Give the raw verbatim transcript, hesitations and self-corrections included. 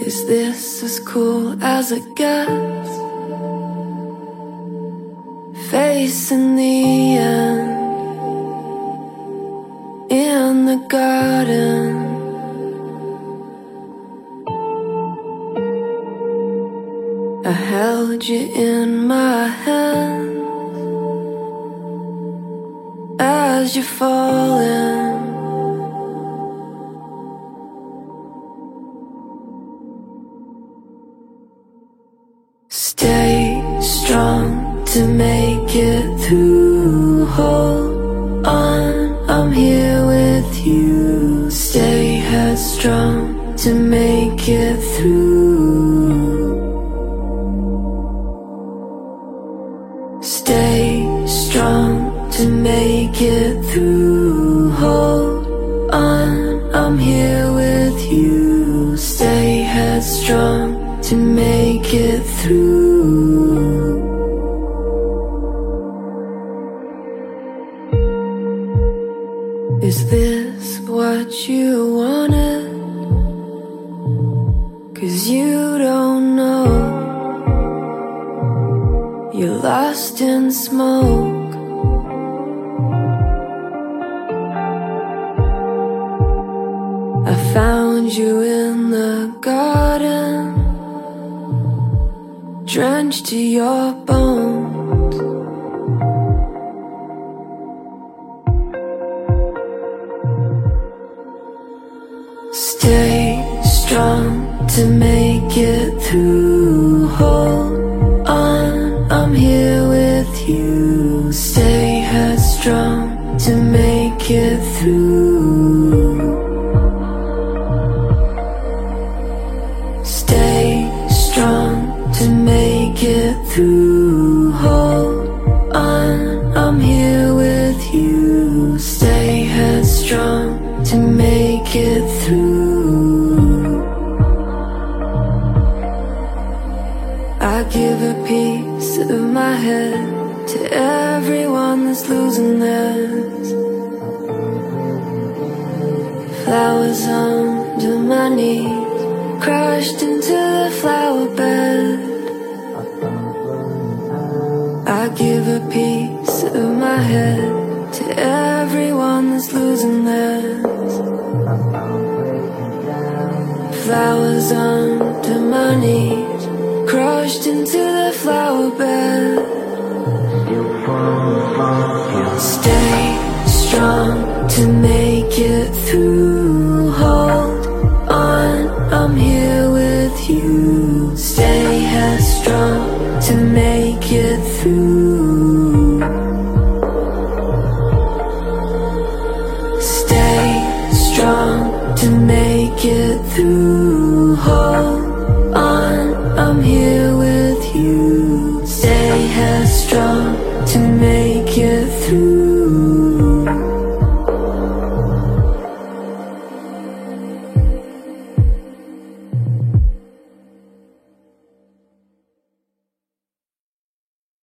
Is this as cool as it gets? Facing the end in the garden. I held you in my hand as you're falling. Stay strong to make it through. Hold on, I'm here with you. Stay headstrong to make it through. Stay strong to make it through. Hold on, I'm here with you. Stay headstrong to make it through. Is this what you wanted? 'Cause you don't know. You're lost in smoke. I found you in the garden, drenched to your bones. Stay strong to make it through. Hold on, I'm here with you. Stay headstrong to make it through. Stay strong to make it through. Hold on, I'm here with you. Stay headstrong to make it through. I give a piece of my head to everyone that's losing theirs. Flowers under my knees, crashed into the flower bed. I give a piece of my head to everyone that's losing theirs. Flowers under my knees, crushed into the flower bed. Stay strong to make it through.